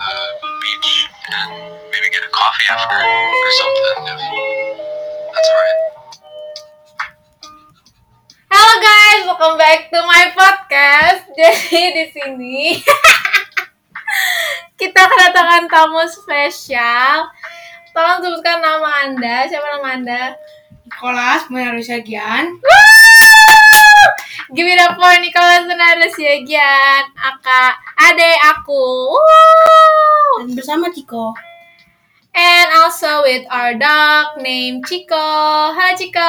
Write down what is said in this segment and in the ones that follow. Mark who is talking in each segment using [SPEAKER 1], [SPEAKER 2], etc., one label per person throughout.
[SPEAKER 1] beach and maybe get a coffee after or something if that's alright.
[SPEAKER 2] Halo guys, welcome back to my podcast. Jadi di sini kita kedatangan tamu spesial. Tolong sebutkan nama Anda. Siapa nama Anda?
[SPEAKER 3] Nicholas Munarusyagian.
[SPEAKER 2] Give it up for Nicholas Munarusyagian, adek aku.
[SPEAKER 3] Dan bersama Ciko.
[SPEAKER 2] And also with our dog named Chico. Halo Chico.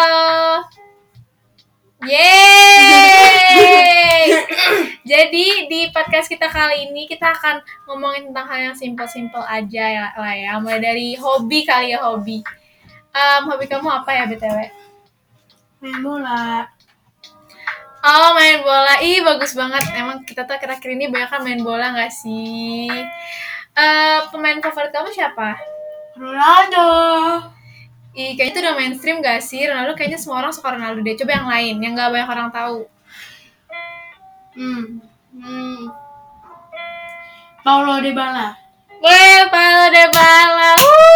[SPEAKER 2] Yeay! Jadi di podcast kita kali ini kita akan ngomongin tentang hal yang simple-simple aja lah ya. Mulai dari hobi kali ya, hobi. Hobi kamu apa ya BTW?
[SPEAKER 3] Main bola.
[SPEAKER 2] Oh, main bola. Ih, bagus banget. Emang kita tuh akhir-akhir ini banyak kan main bola gak sih? Pemain favorit kamu siapa?
[SPEAKER 3] Ronaldo.
[SPEAKER 2] Ih, kayaknya itu udah mainstream gak sih? Ronaldo kayaknya semua orang suka Ronaldo deh. Coba yang lain, yang gak banyak orang tahu.
[SPEAKER 3] Paulo Dybala.
[SPEAKER 2] Weh, Paulo Dybala.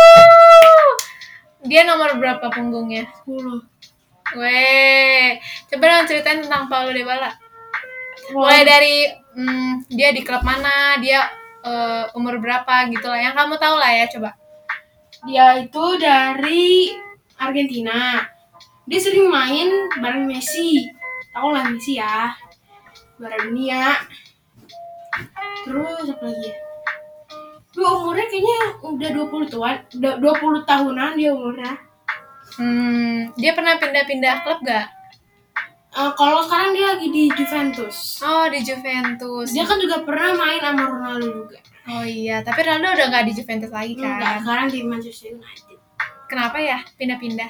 [SPEAKER 2] Dia nomor berapa punggungnya?
[SPEAKER 3] 10.
[SPEAKER 2] Weh, coba dong ceritain tentang Paulo Dybala. Mulai dari dia di klub mana, dia umur berapa gitu lah. Yang kamu tahu lah ya, coba.
[SPEAKER 3] Dia itu dari Argentina. Dia sering main bareng Messi. Tahu lah Messi ya. Juara dunia. Terus apa lagi ya? Dia umurnya kayaknya udah 20 tahunan dia umurnya.
[SPEAKER 2] Dia pernah pindah-pindah klub gak?
[SPEAKER 3] Kalau sekarang dia lagi di Juventus.
[SPEAKER 2] Oh, di Juventus.
[SPEAKER 3] Dia kan juga pernah main sama Ronaldo juga.
[SPEAKER 2] Oh iya, tapi Ronaldo udah gak di Juventus lagi kan?
[SPEAKER 3] Enggak, sekarang di Manchester United.
[SPEAKER 2] Kenapa ya pindah-pindah?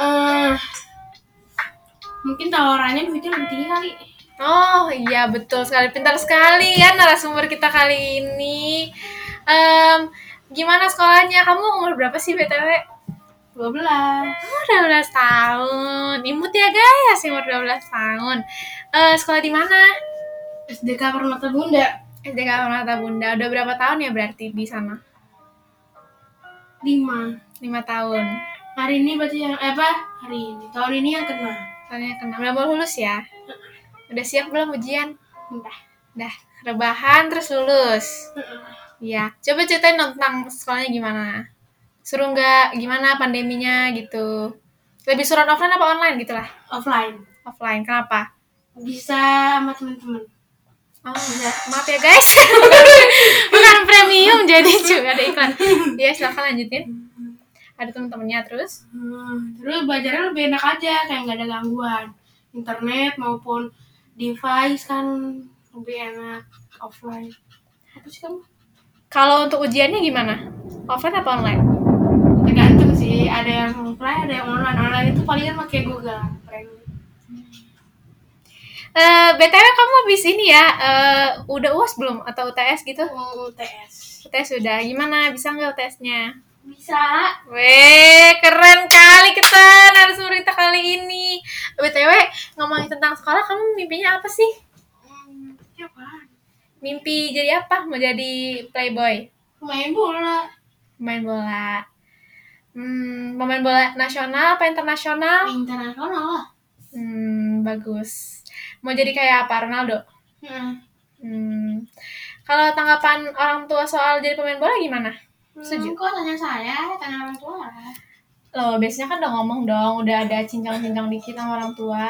[SPEAKER 3] Mungkin tawarannya duitnya lebih tinggi kali.
[SPEAKER 2] Oh iya, betul sekali. Pintar sekali ya narasumber kita kali ini. Gimana sekolahnya? Kamu umur berapa sih BTW?
[SPEAKER 3] 12.
[SPEAKER 2] Oh, 12 tahun. Imut ya guys, umur 12 tahun. Sekolah di mana?
[SPEAKER 3] SDK Permata Bunda.
[SPEAKER 2] SDK Permata Bunda. Udah berapa tahun ya berarti di sana?
[SPEAKER 3] 5
[SPEAKER 2] tahun.
[SPEAKER 3] Hari ini berarti yang hari ini. Tahun ini yang kena.
[SPEAKER 2] Tahunnya kena. Udah mau lulus ya? Udah siap belum ujian?
[SPEAKER 3] Udah.
[SPEAKER 2] Rebahan terus lulus. Iya. Coba ceritain tentang sekolahnya gimana? Seru nggak? Gimana pandeminya gitu? Lebih surat offline apa online gitu lah?
[SPEAKER 3] Offline.
[SPEAKER 2] Offline. Kenapa?
[SPEAKER 3] Bisa sama teman-teman.
[SPEAKER 2] Oh iya. Maaf ya guys. Bukan premium jadi juga ada iklan. Ya silakan lanjutin. Ada teman-temannya terus?
[SPEAKER 3] Terus belajarnya lebih enak aja, kayak nggak ada gangguan. Internet maupun device kan lebih enak offline. Apa sih kamu?
[SPEAKER 2] Kalau untuk ujiannya gimana? Offline apa online?
[SPEAKER 3] Tergantung sih, ada yang offline, ada yang online. Online itu palingan pakai Google.
[SPEAKER 2] BTW kamu habis ini ya, udah UAS belum? Atau UTS gitu?
[SPEAKER 3] UTS.
[SPEAKER 2] UTS sudah. Gimana? Bisa nggak UTS-nya?
[SPEAKER 3] Bisa.
[SPEAKER 2] Weh, keren kali kita narasumber kita kali ini. BTW, ngomongin tentang sekolah, kamu mimpinya apa sih?
[SPEAKER 3] Apa?
[SPEAKER 2] Mimpi jadi apa? Mau jadi playboy?
[SPEAKER 3] Main bola.
[SPEAKER 2] Main bola. Pemain bola nasional apa internasional?
[SPEAKER 3] Internasional lah.
[SPEAKER 2] Bagus. Mau jadi kayak apa, Ronaldo? Kalau tanggapan orang tua soal jadi pemain bola gimana? Setuju?
[SPEAKER 3] Kok tanya saya, tanya orang tua lah.
[SPEAKER 2] Loh, biasanya kan udah ngomong dong, udah ada cincang-cincang dikit sama orang tua.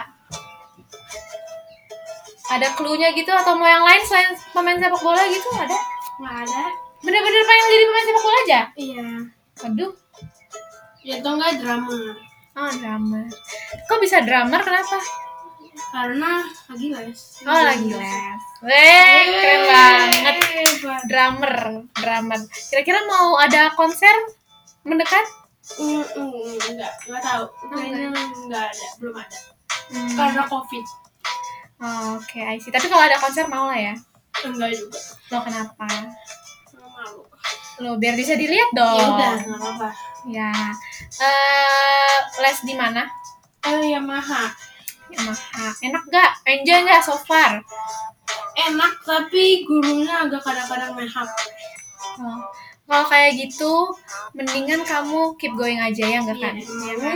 [SPEAKER 2] Ada clue-nya gitu atau mau yang lain selain pemain sepak bola gitu? Ada?
[SPEAKER 3] Nggak ada.
[SPEAKER 2] Bener-bener pengen jadi pemain sepak bola aja?
[SPEAKER 3] Iya.
[SPEAKER 2] Aduh.
[SPEAKER 3] Ya atau enggak drummer.
[SPEAKER 2] Oh, drummer. Kok bisa drummer? Kenapa?
[SPEAKER 3] Karena lagi les.
[SPEAKER 2] Oh, lagi les. Weh, keren banget. Drummer. Kira-kira mau ada konser mendekat?
[SPEAKER 3] Enggak tahu. Kayaknya enggak ada, belum ada. Karena COVID.
[SPEAKER 2] Oke, I see. Tapi kalau ada konser mau lah ya?
[SPEAKER 3] Enggak juga.
[SPEAKER 2] Loh, kenapa?
[SPEAKER 3] Malu.
[SPEAKER 2] Loh, biar bisa dilihat dong.
[SPEAKER 3] Ya udah, enggak apa-apa.
[SPEAKER 2] Ya. Les di mana?
[SPEAKER 3] Yamaha.
[SPEAKER 2] Enak gak? Enjoy gak so far?
[SPEAKER 3] Enak, tapi gurunya agak kadang-kadang main HP.
[SPEAKER 2] Oh. Kalau kayak gitu, mendingan kamu keep going aja ya enggak kan? Iya kan?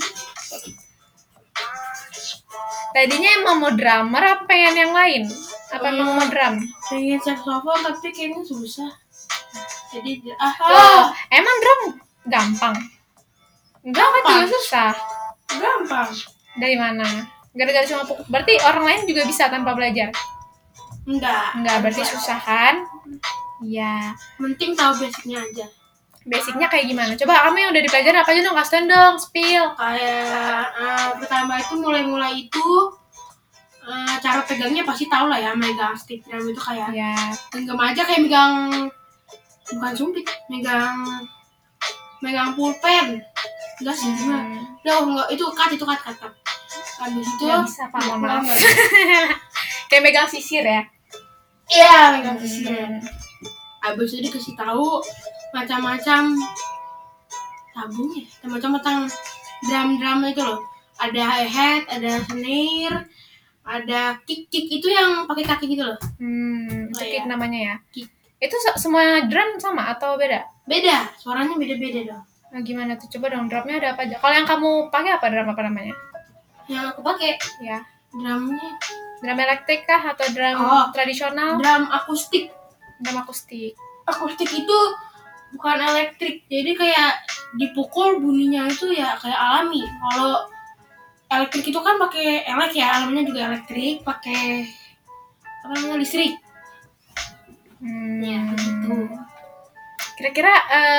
[SPEAKER 2] Tadinya emang mau drummer apa pengen yang lain? Apa emang mau drum?
[SPEAKER 3] Pengen saxophone tapi kayaknya susah. Jadi
[SPEAKER 2] Loh, emang drum gampang? Enggak, kan juga susah.
[SPEAKER 3] gampang.
[SPEAKER 2] Dari mana? Gara-gara cuma pukul. Berarti orang lain juga bisa tanpa belajar? Enggak, berarti susah kan? Iya.
[SPEAKER 3] Penting tahu basicnya aja.
[SPEAKER 2] Basicnya kayak gimana? Coba kamu yang udah dipelajarin apa aja dong, kasih dong, spill.
[SPEAKER 3] Kayak pertama itu mulai itu cara pegangnya pasti tahu lah ya, megang stick drum itu kayak
[SPEAKER 2] Ya.
[SPEAKER 3] genggam aja kayak megang bukan sumpit, megang pulpen. Enggak sih, enggak itu cut. Habis itu
[SPEAKER 2] Nggak bisa, Pak, mohon maaf.
[SPEAKER 3] Enggak.
[SPEAKER 2] Kayak megang sisir ya?
[SPEAKER 3] Iya, megang sisir. Habis itu dikasih tahu macam-macam tabungnya, macam-macam drum itu loh. Ada hi-hat, ada snare, ada kick itu yang pakai kaki gitu loh.
[SPEAKER 2] Itu kick
[SPEAKER 3] iya.
[SPEAKER 2] namanya ya?
[SPEAKER 3] Kick.
[SPEAKER 2] Itu semua drum sama atau beda?
[SPEAKER 3] Beda, suaranya beda-beda dong.
[SPEAKER 2] Nah, gimana tuh? Coba dong, drumnya ada apa aja? Kalau yang kamu pakai apa drum apa namanya?
[SPEAKER 3] Yang aku pakai
[SPEAKER 2] Ya,
[SPEAKER 3] drumnya
[SPEAKER 2] drum elektrik kah atau drum tradisional?
[SPEAKER 3] drum akustik.
[SPEAKER 2] Drum akustik.
[SPEAKER 3] Akustik itu bukan elektrik, jadi kayak dipukul bunyinya itu ya kayak alami. Kalau elektrik itu kan pakai ya, alamnya juga elektrik, pakai apa namanya, listrik. Ya gitu.
[SPEAKER 2] Kira-kira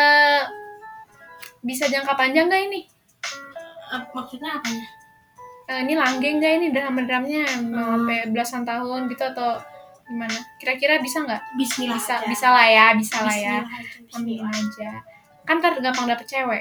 [SPEAKER 2] bisa jangka panjang nggak ini?
[SPEAKER 3] Maksudnya apanya?
[SPEAKER 2] Ini langgeng nggak ini drumnya mau sampai belasan tahun gitu atau gimana? Kira-kira bisa nggak?
[SPEAKER 3] Bismillah aja.
[SPEAKER 2] Bisa lah ya.
[SPEAKER 3] Bismillah
[SPEAKER 2] Amin aja. Kan ntar gampang dapet cewek.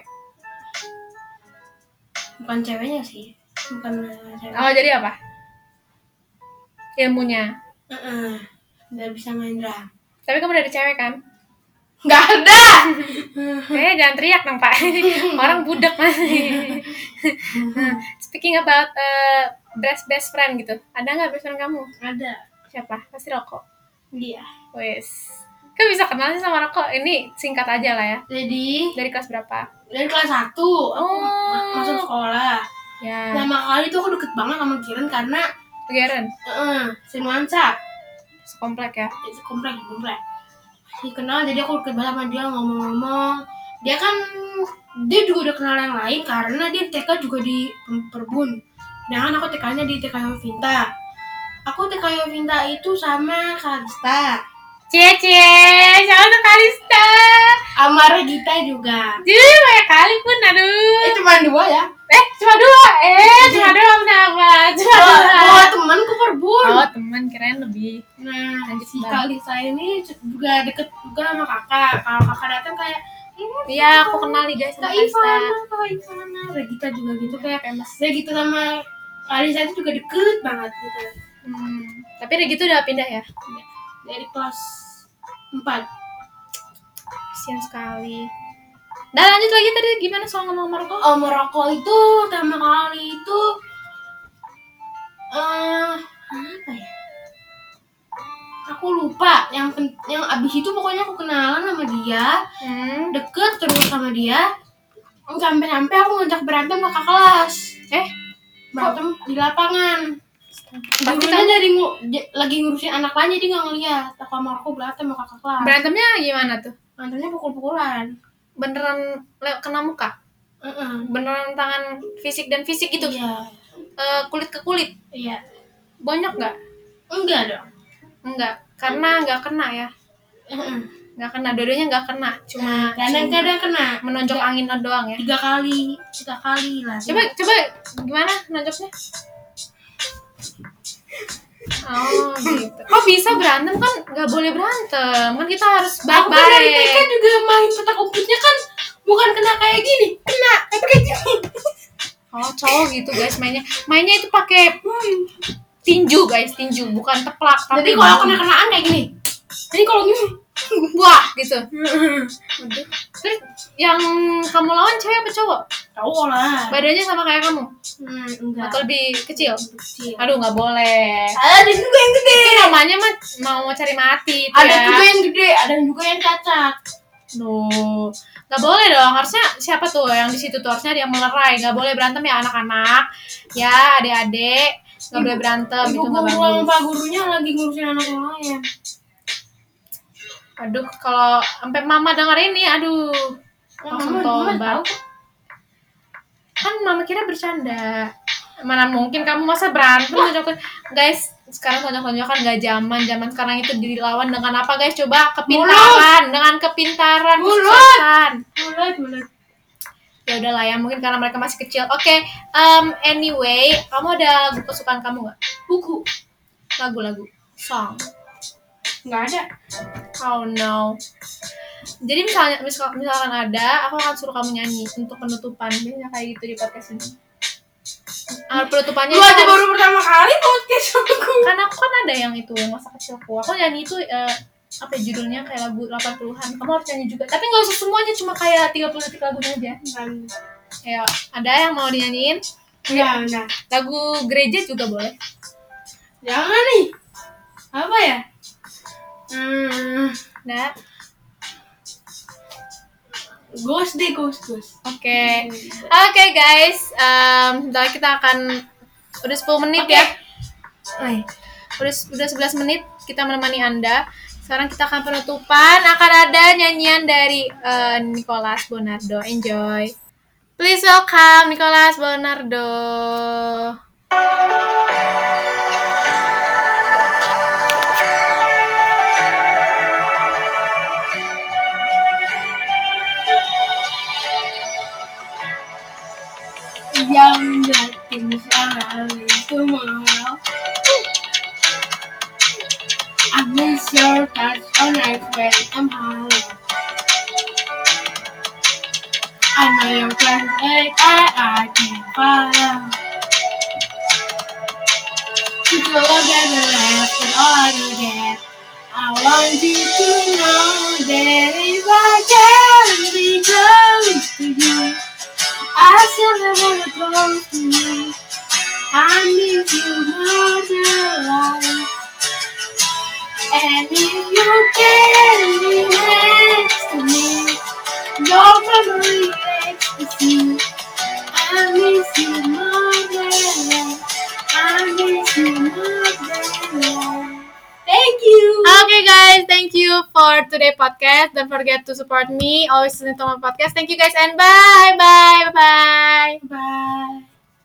[SPEAKER 3] Bukan ceweknya sih, bukan cewek.
[SPEAKER 2] Oh, jadi apa? Ilmunya.
[SPEAKER 3] Nggak bisa main drum.
[SPEAKER 2] Tapi kamu dari cewek kan?
[SPEAKER 3] Nggak ada.
[SPEAKER 2] Jangan teriak dong, Pak. Orang budak masih. Speaking about best friend gitu. Ada nggak best friend kamu?
[SPEAKER 3] Ada.
[SPEAKER 2] Siapa? Pasti Rokok.
[SPEAKER 3] Dia.
[SPEAKER 2] Wes. Kan bisa kenal sih sama Rokok. Ini singkat aja lah ya.
[SPEAKER 3] Jadi
[SPEAKER 2] Dari kelas berapa?
[SPEAKER 3] dari kelas 1 aku masuk sekolah.
[SPEAKER 2] Ya.
[SPEAKER 3] Pertama kali tuh aku deket banget sama Kiran karena
[SPEAKER 2] Geren.
[SPEAKER 3] senuansa.
[SPEAKER 2] Sekomplek ya.
[SPEAKER 3] Itu komplek. Dikenal, jadi aku deket banget sama dia, ngomong-ngomong. Dia juga udah kenal yang lain karena dia TK juga di Perbun. Sedangkan aku TK-nya di TK Yovinta. Aku TK Yovinta itu sama Kalista.
[SPEAKER 2] Cie, siapa tuh Kalista?
[SPEAKER 3] Sama Regita juga.
[SPEAKER 2] Jadi banyak kali pun, aduh.
[SPEAKER 3] Cuma 2 ya?
[SPEAKER 2] Cuma 2? Cuma 2 kenapa? Cuma 2.
[SPEAKER 3] Temanku Perbun.
[SPEAKER 2] Oh, teman, kirain lebih.
[SPEAKER 3] Nah,
[SPEAKER 2] Lanjut,
[SPEAKER 3] si
[SPEAKER 2] Bang.
[SPEAKER 3] Kalista ini juga deket juga sama kakak. Kalau kakak datang kayak,
[SPEAKER 2] Iya, aku kenal nih guys sama
[SPEAKER 3] Kak
[SPEAKER 2] Kalista.
[SPEAKER 3] Ivana. Regita juga gitu, kayak Regita sama Kalista itu juga deket banget gitu.
[SPEAKER 2] Tapi Regi tuh udah pindah ya?
[SPEAKER 3] Dari kelas 4.
[SPEAKER 2] Kasian sekali. Nah, lanjut lagi tadi gimana soal ngomong merokok?
[SPEAKER 3] Merokok itu pertama kali itu apa ya? Aku lupa. Yang abis itu pokoknya aku kenalan sama dia, deket terus sama dia, sampai aku ngajak berantem kakak kelas. Berantem di lapangan. Dulunya lagi ngurusin anak lain jadi nggak ngeliat. Aku sama aku berantem sama kakak kelas.
[SPEAKER 2] Berantemnya gimana tuh?
[SPEAKER 3] Berantemnya pukul-pukulan.
[SPEAKER 2] Beneran kena muka? Beneran tangan fisik dan fisik gitu?
[SPEAKER 3] Iya.
[SPEAKER 2] Kulit ke kulit?
[SPEAKER 3] Iya.
[SPEAKER 2] Banyak nggak?
[SPEAKER 3] Enggak dong.
[SPEAKER 2] Enggak, karena nggak kena ya? Nggak kena, dua-duanya nggak kena. Cuma
[SPEAKER 3] Kadang-kadang kena.
[SPEAKER 2] menonjok angin doang ya?
[SPEAKER 3] 3 kali lah.
[SPEAKER 2] Coba gimana nonjoknya? Oh gitu. Kok bisa berantem? Kan nggak boleh berantem. Kan kita harus
[SPEAKER 3] Aku kan dari TK
[SPEAKER 2] baik-baik.
[SPEAKER 3] juga main petak umpetnya kan bukan kena kayak gini, kena kayak gini.
[SPEAKER 2] Oh, cowok gitu guys mainnya. Mainnya itu pakai tinju guys, tinju bukan teplak.
[SPEAKER 3] Jadi
[SPEAKER 2] tapi
[SPEAKER 3] kalau kena-kenaan kayak gini. Jadi kalau gini,
[SPEAKER 2] wah gitu. Aduh. Terus yang kamu lawan cewek apa cowok?
[SPEAKER 3] Cowok lah.
[SPEAKER 2] Badannya sama kayak kamu?
[SPEAKER 3] Enggak.
[SPEAKER 2] Atau lebih kecil?
[SPEAKER 3] Kecil.
[SPEAKER 2] Aduh, nggak boleh.
[SPEAKER 3] Ada juga yang gede.
[SPEAKER 2] Itu namanya mah mau cari mati itu
[SPEAKER 3] Ada
[SPEAKER 2] ya.
[SPEAKER 3] juga yang gede, ada juga yang cacat.
[SPEAKER 2] Duh, nggak boleh dong. Harusnya siapa tuh yang di situ tuh, harusnya dia melerai. Nggak boleh berantem ya anak-anak. Ya adik-adik, nggak boleh berantem, itu
[SPEAKER 3] Ibu
[SPEAKER 2] nggak
[SPEAKER 3] guru sama
[SPEAKER 2] bagus.
[SPEAKER 3] pak gurunya lagi ngurusin anak yang lain.
[SPEAKER 2] Aduh, kalau sampai mama denger ini, aduh, langsung
[SPEAKER 3] Mama
[SPEAKER 2] tobat.
[SPEAKER 3] tahu.
[SPEAKER 2] Kan mama kira bercanda. Mana mungkin kamu masa berantem tonjok. Guys, sekarang tonjok-tonjokan nggak zaman sekarang itu dilawan dengan apa guys? Coba kepintaran, dengan kepintaran, kesuksesan.
[SPEAKER 3] Mulut.
[SPEAKER 2] Ya udahlah ya, mungkin karena mereka masih kecil. Oke, anyway, kamu ada lagu kesukaan kamu nggak?
[SPEAKER 3] Buku.
[SPEAKER 2] Lagu-lagu, song.
[SPEAKER 3] Nggak ada.
[SPEAKER 2] Oh no. Jadi misalkan ada, aku akan suruh kamu nyanyi untuk penutupan. Biasanya kayak gitu di podcast ini. Penutupannya
[SPEAKER 3] Lu aja baru pertama kali podcast aku.
[SPEAKER 2] kan aku kan ada yang itu yang masa kecilku. Aku nyanyi itu apa ya, judulnya kayak lagu 80-an. Kamu harus nyanyi juga. Tapi nggak usah semuanya, cuma kayak 30 detik lagunya aja. Ya, ada yang mau dinyanyiin?
[SPEAKER 3] Enggak.
[SPEAKER 2] Lagu gereja juga boleh.
[SPEAKER 3] Jangan nih. Apa ya?
[SPEAKER 2] Nah,
[SPEAKER 3] Ghost.
[SPEAKER 2] Oke guys, bentar kita akan udah 10 menit ya. Udah 11 menit kita menemani Anda. Sekarang kita akan penutupan, akan ada nyanyian dari Nicholas Bonardo. Enjoy. Please welcome Nicholas Bonardo.
[SPEAKER 3] Yang yakin sekali tomorrow. I miss your touch on night when I'm hollow. I know your plans like I can follow. You go again and left and all you get. I want you to know that if I can be close to you, I still never close to you. I need you more than life. And if you can be next to me, your memory ecstasy. I miss you more than life. I miss you more than life. Thank you.
[SPEAKER 2] Okay guys, thank you for today podcast. Don't forget to support me. Always listen to my podcast. Thank you guys and bye.
[SPEAKER 3] Bye.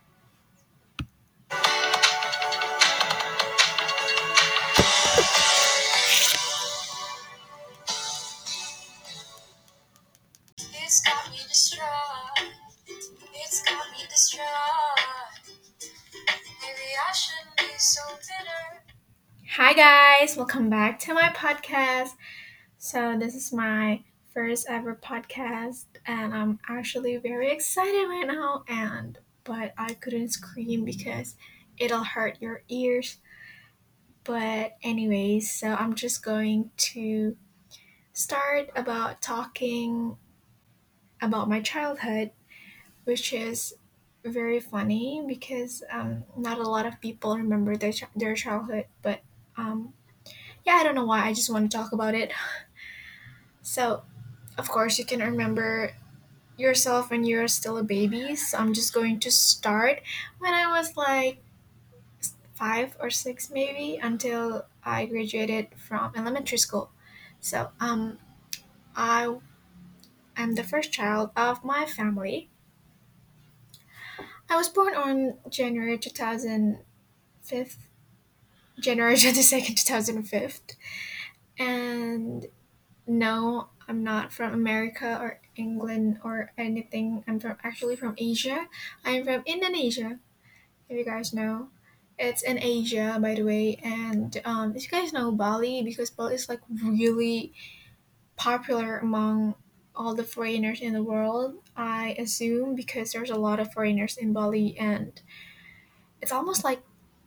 [SPEAKER 1] It's got me distraught. It's got me distraught. Maybe I shouldn't be so bitter.
[SPEAKER 2] Hi guys, welcome back to my podcast. So this is my first ever podcast and I'm actually very excited right now but I couldn't scream because it'll hurt your ears. But anyways, so I'm just going to start about talking about my childhood, which is very funny because not a lot of people remember their childhood, but yeah, I don't know why. I just want to talk about it. So, of course, you can remember yourself when you're still a baby. So I'm just going to start when I was like 5 or 6 maybe until I graduated from elementary school. So I am the first child of my family. I was born on January 2005, January 22nd, 2005. And no, I'm not from America or England or anything. I'm actually from Asia. I'm from Indonesia, if you guys know. It's in Asia, by the way. And if you guys know Bali, because Bali is like really popular among all the foreigners in the world, I assume, because there's a lot of foreigners in Bali and it's almost like,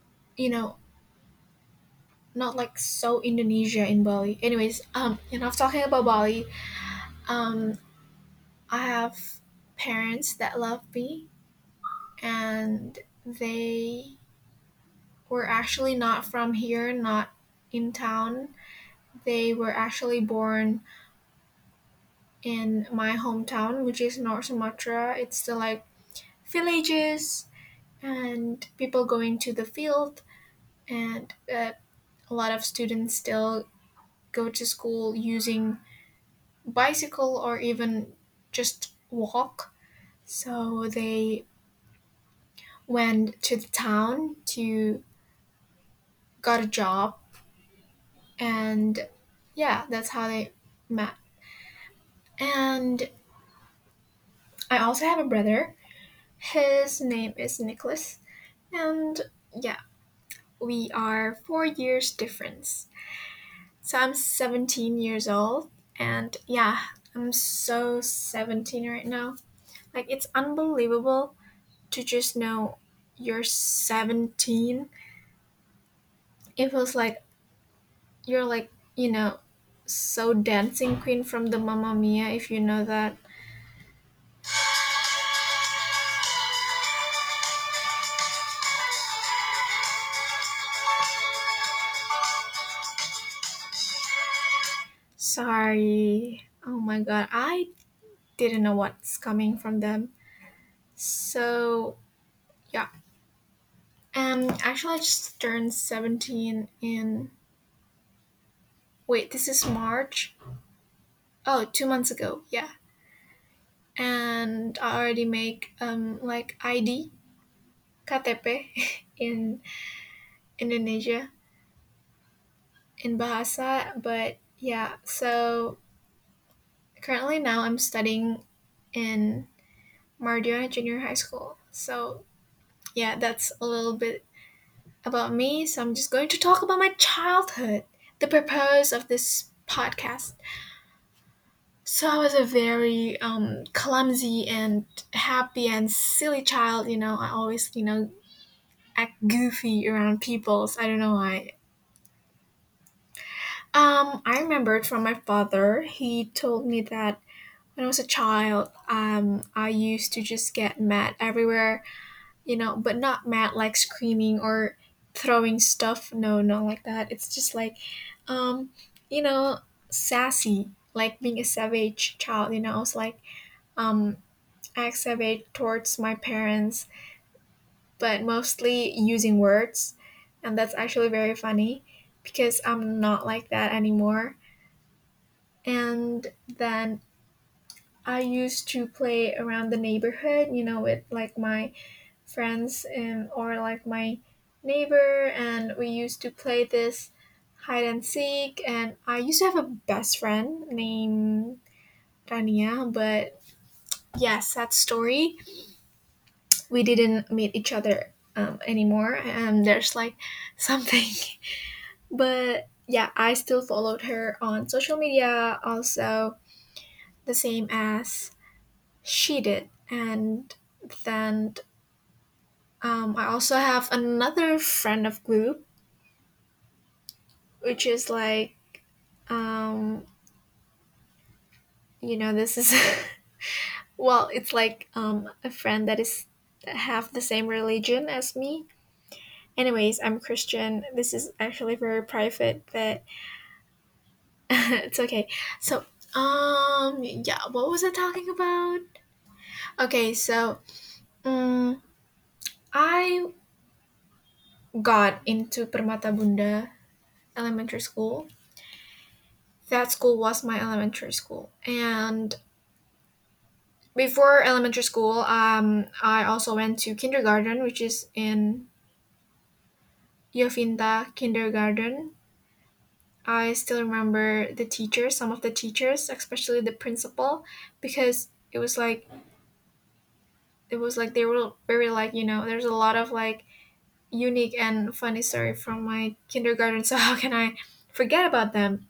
[SPEAKER 2] not like so Indonesia in Bali. Anyways, enough talking about Bali. I have parents that love me, and they were actually not from here, not in town. They were actually born in my hometown, which is North Sumatra. It's still like villages and people going to the field, and a lot of students still go to school using bicycle or even just walk. So they went to the town to got a job, and yeah, that's how they met. And I also have a brother. His name is Nicholas, and yeah, we are 4 years difference. So I'm 17 years old, and yeah, I'm so 17 right now. Like, it's unbelievable to just know you're 17. It feels like you're like, so dancing queen from the Mamma Mia, if you know that. Sorry. Oh my god, I didn't know what's coming from them. So, yeah. Actually, I just turned 17 in. Wait, this is March? Oh, 2 months ago, yeah. And I already make like ID, KTP in Indonesia, in Bahasa. But yeah, so currently now I'm studying in Mardiona Junior High School. So yeah, that's a little bit about me. So I'm just going to talk about my childhood, the purpose of this podcast. So I was a very clumsy and happy and silly child. I always act goofy around people. So I don't know why. I remembered from my father. He told me that when I was a child, I used to just get mad everywhere. But not mad like screaming or throwing stuff. No, not like that. It's just like, um, you know, sassy, like being a savage child. I was like, um, act savage towards my parents, but mostly using words. And that's actually very funny because I'm not like that anymore. And then I used to play around the neighborhood, with like my friends and or like my neighbor, and we used to play this hide and seek. And I used to have a best friend named Rania, but yeah, sad story. We didn't meet each other anymore, and there's like something. But yeah, I still followed her on social media, also the same as she did. And then I also have another friend of group, which is like, um, this is well, it's like a friend that have the same religion as me. Anyways, I'm Christian. This is actually very private, but it's okay. So, yeah, what was I talking about? Okay, so, um, I got into Permata Bunda Elementary School. That school was my elementary school, and before elementary school, I also went to kindergarten, which is in Yofinta Kindergarten. I still remember the teachers, some of the teachers, especially the principal, because it was like they were very like, there's a lot of like unique and funny story from my kindergarten. So how can I forget about them?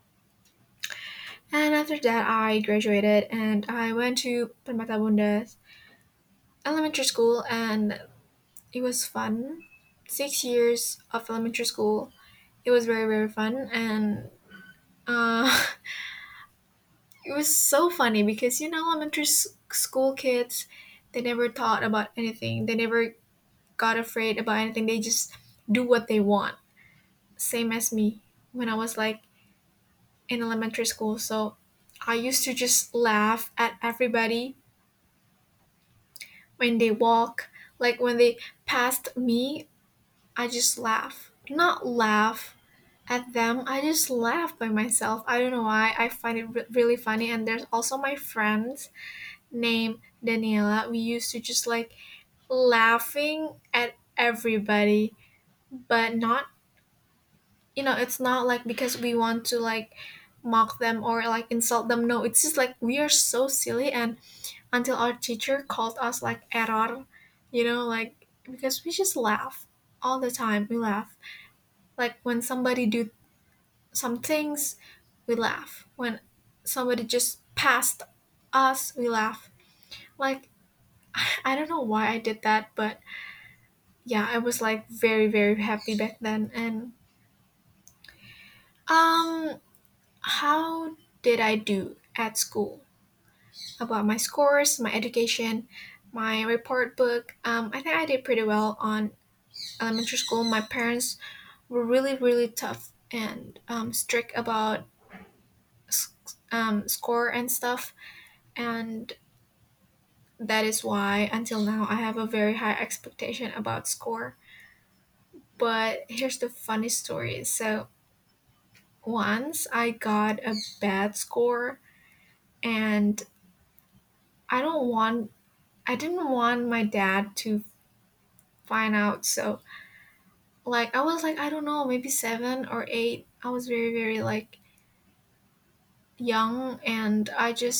[SPEAKER 2] And after that, I graduated and I went to Permata Bunda Elementary School, and it was fun. 6 years of elementary school. It was very, very fun. And uh, it was so funny because elementary school kids, they never thought about anything. They never got afraid about anything. They just do what they want. Same as me when I was like in elementary school. So I used to just laugh at everybody when they walk. Like when they passed me, I just laugh. Not laugh at them, I just laugh by myself. I don't know why. I find it really funny. And there's also my friends named Daniela. We used to just like laughing at everybody, but not, it's not like because we want to like mock them or like insult them. No, it's just like we are so silly. And until our teacher called us like error, like because we just laugh all the time. We laugh. Like when somebody do some things, we laugh. When somebody just passed us, we laugh. Like, I don't know why I did that, but yeah, I was like very, very happy back then. And um, how did I do at school? About my scores, my education, my report book. I think I did pretty well on elementary school. My parents were really, really tough and strict about score and stuff. And that is why until now I have a very high expectation about score. But here's the funny story. So once I got a bad score, and I don't want I didn't want my dad to find out. So like I was like, I don't know, maybe 7 or 8. I was very, very like young, and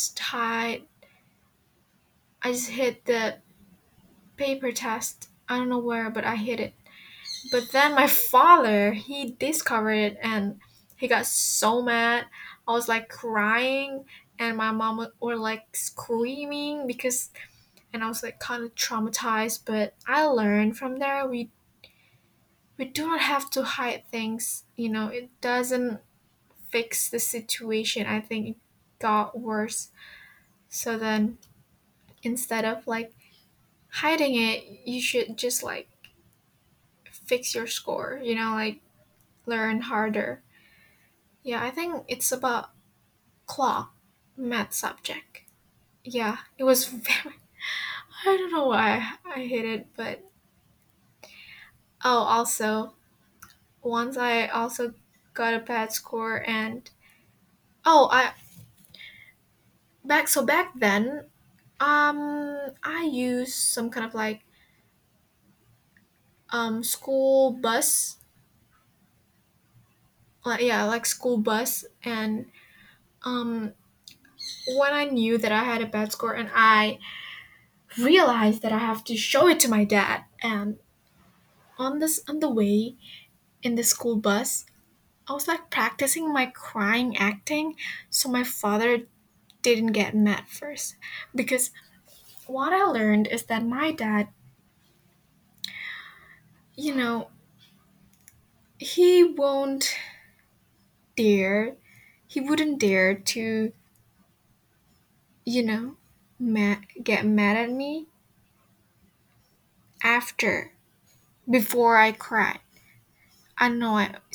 [SPEAKER 2] I just hit the paper test. I don't know where, but I hit it. But then my father, he discovered it and he got so mad. I was like crying, and my mom were like screaming because, and I was like kind of traumatized. But I learned from there, we do not have to hide things. It doesn't fix the situation. I think it got worse. So then instead of like hiding it, you should just like fix your score, like learn harder. Yeah, I think it's about clock math subject. Yeah, it was very. I don't know why I hate it, but oh, also once I also got a bad score, and oh, back then, I used some kind of like school bus, like yeah, like school bus, and um when I knew that I had a bad score, and I realized that I have to show it to my dad, and on the way in the school bus, I was like practicing my crying acting so my father didn't get mad first. Because what I learned is that my dad, you know, he won't dare, he wouldn't dare to, get mad at me after, before I cry. I don't know.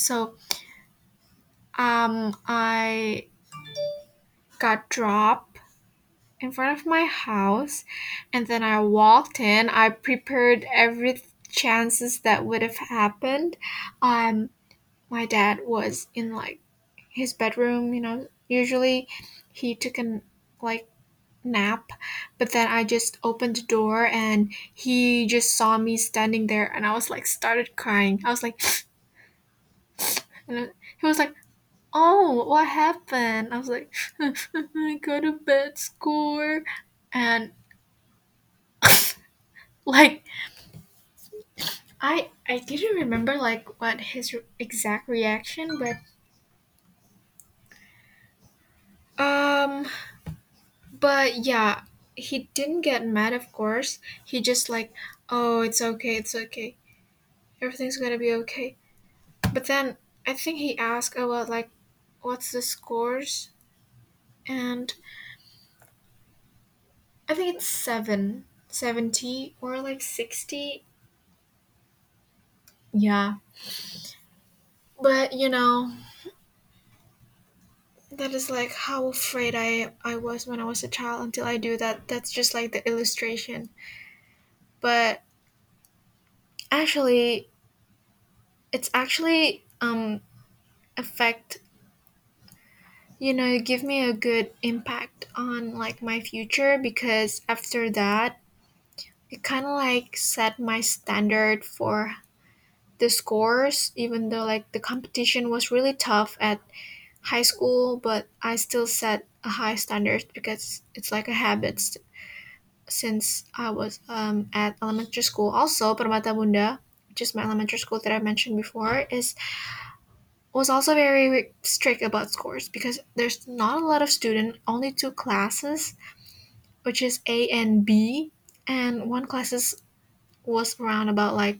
[SPEAKER 2] I got dropped in front of my house, and then I walked in. I prepared every chances that would have happened. um my dad was in like his bedroom. Usually he took a like nap, but then I just opened the door and he just saw me standing there, and I was like started crying. I was like and he was like, oh, what happened? I was like, I got a bad score. And like I didn't remember like what his exact reaction, but um yeah, he didn't get mad, of course. He just like, oh, it's okay, it's okay, everything's gonna be okay. But then I think he asked about like, what's the scores? and I think it's 70 or like 60. Yeah. But that is like how afraid I was when I was a child until I do that. That's just like the illustration. But actually, it's actually affect give me a good impact on like my future, because after that it kind of like set my standard for the scores, even though like the competition was really tough at high school, but I still set a high standard because it's like a habit since I was at elementary school. Also, Permata Bunda, which is my elementary school that I mentioned before, is was also very strict about scores because there's not a lot of students, only two classes, which is A and B, and one classes was around about like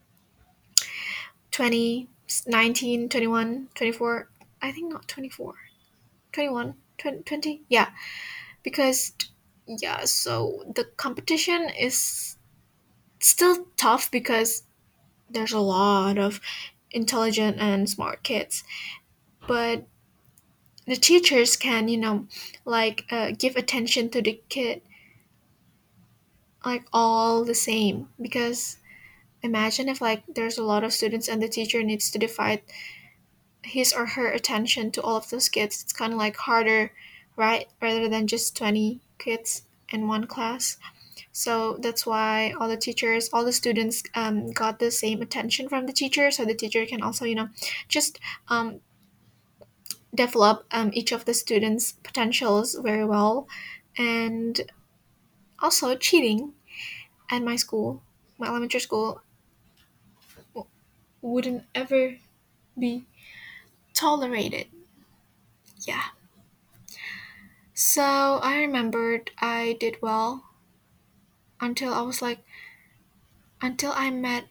[SPEAKER 2] 20, 19, 21, 24. I think not 24, 21, 20, 20. Yeah, because yeah, so the competition is still tough because there's a lot of intelligent and smart kids, but the teachers can like give attention to the kid like all the same, because imagine if like there's a lot of students and the teacher needs to divide his or her attention to all of those kids. It's kind of like harder, right, rather than just 20 kids in one class. So that's why all the teachers, all the students got the same attention from the teacher, so the teacher can also just um, develop each of the students potentials very well. And also cheating at my school, my elementary school, wouldn't ever be tolerated. Yeah. So I remembered I did well until I was like, until I met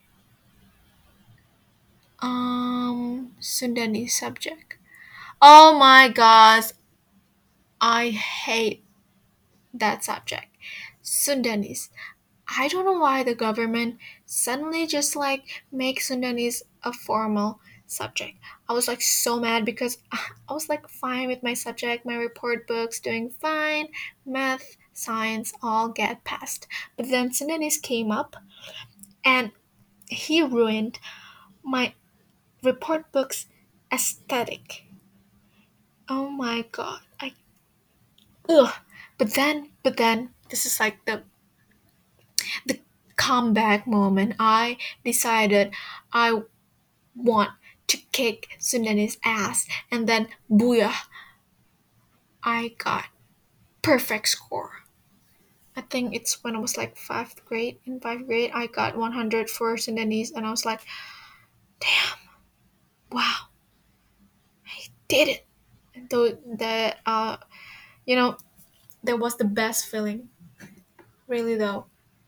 [SPEAKER 2] Sundani subject. Oh my gosh, I hate that subject. Sundanese. I don't know why the government suddenly just like make Sundanese a formal subject. I was like so mad because I was like fine with my subject, my report books, doing fine, math, science, all get passed. But then Sundanese came up and he ruined my report book's aesthetic. Oh my god. Ugh. But then this is like the comeback moment. I decided I want to kick Sundani's ass, and then booyah, I got perfect score. I think it's when I was like fifth grade. In fifth grade, I got 100 for Sundanese, and I was like, damn, wow, I did it. And though that you know, that was the best feeling, really though.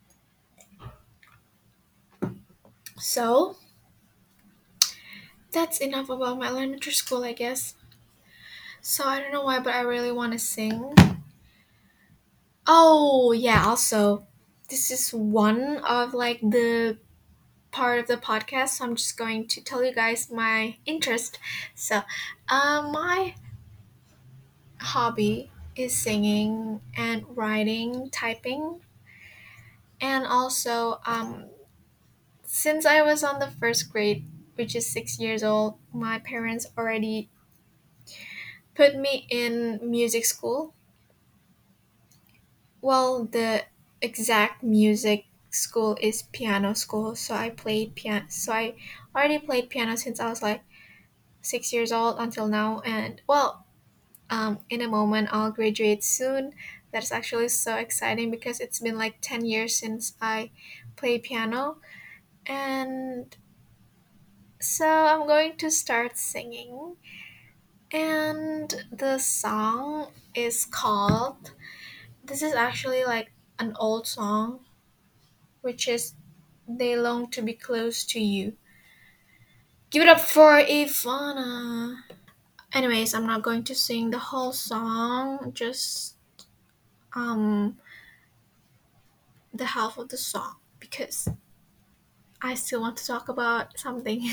[SPEAKER 2] So that's enough about my elementary school, I guess. So I don't know why, but I really want to sing. Oh, yeah, also, this is one of like the part of the podcast, so I'm just going to tell you guys my interest. So, my hobby is singing and writing, typing, and also, since I was on the first grade, which is 6 years old, my parents already put me in music school. Well, the exact music school is piano school, so I played piano. So I already played piano since I was like 6 years old until now. And well, in a moment I'll graduate soon. That's actually so exciting because it's been like 10 years since I played piano, and so I'm going to start singing. And the song is called. This is actually like an old song, which is They Long to Be Close to You. Give it up for Ivana. Anyways, I'm not going to sing the whole song, just um the half of the song because I still want to talk about something.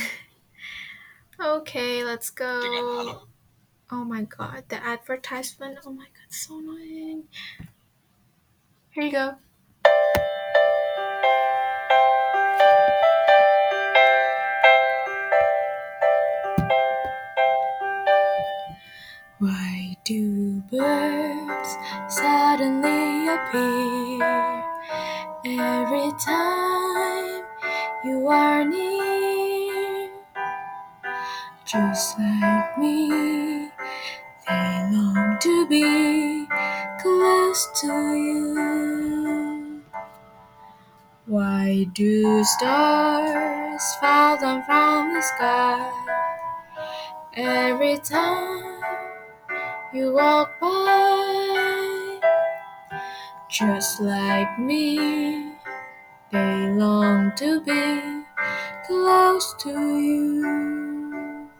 [SPEAKER 2] Okay, let's go. Oh my god, the advertisement. Oh my god, so annoying. Here you go. Why do birds suddenly appear every time you are near? Just like me, they long to be close to you. Why do stars fall down from the sky every time you walk by? Just like me, they long to be close to you.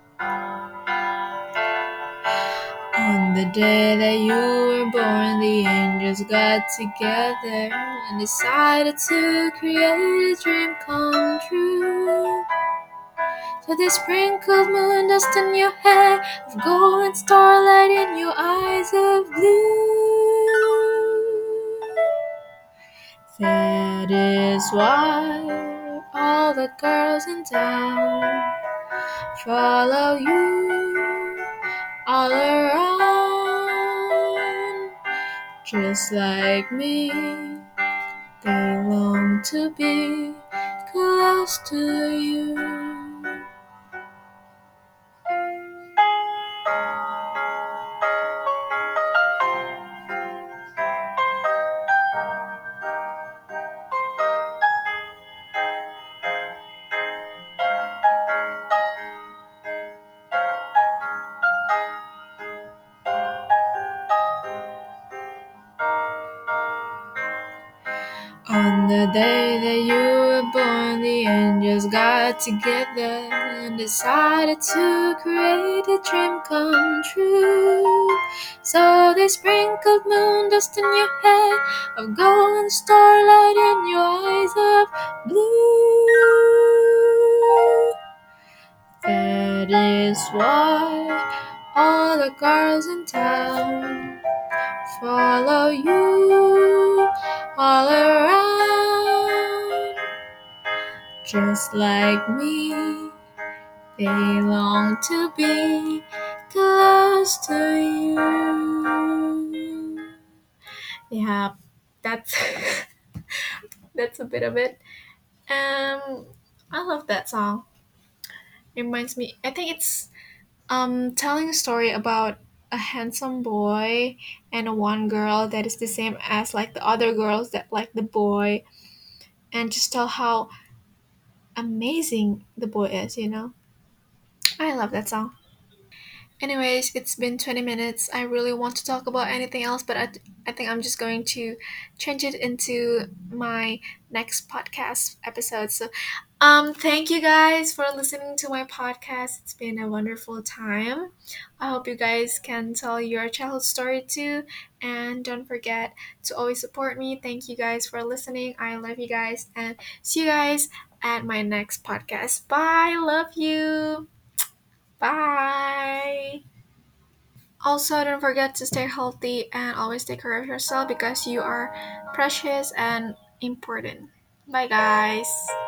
[SPEAKER 2] On the day that you were born, the angels got together and decided to create a dream come true. So they sprinkled moon dust in your hair, of gold and starlight in your eyes of blue. That is why all the girls in town follow you all around. Just like me, they long to be close to you. On the day that you were born, the angels got together and decided to create a dream come true. So they sprinkled moon dust in your hair, of gold and starlight in your eyes of blue. That is why all the girls in town follow you all around. Just like me, they long to be close to you. Yeah, that's that's a bit of it. I love that song. Reminds me, I think it's telling a story about a handsome boy and a one girl that is the same as like the other girls that like the boy, and just tell how amazing the boy is. I love that song. Anyways, it's been 20 minutes. I really want to talk about anything else, but I think I'm just going to change it into my next podcast episode. So, thank you guys for listening to my podcast. It's been a wonderful time. I hope you guys can tell your childhood story too. And don't forget to always support me. Thank you guys for listening. I love you guys. And see you guys at my next podcast. Bye. Love you. Bye. Also, don't forget to stay healthy and always take care of yourself because you are precious and important. Bye, guys.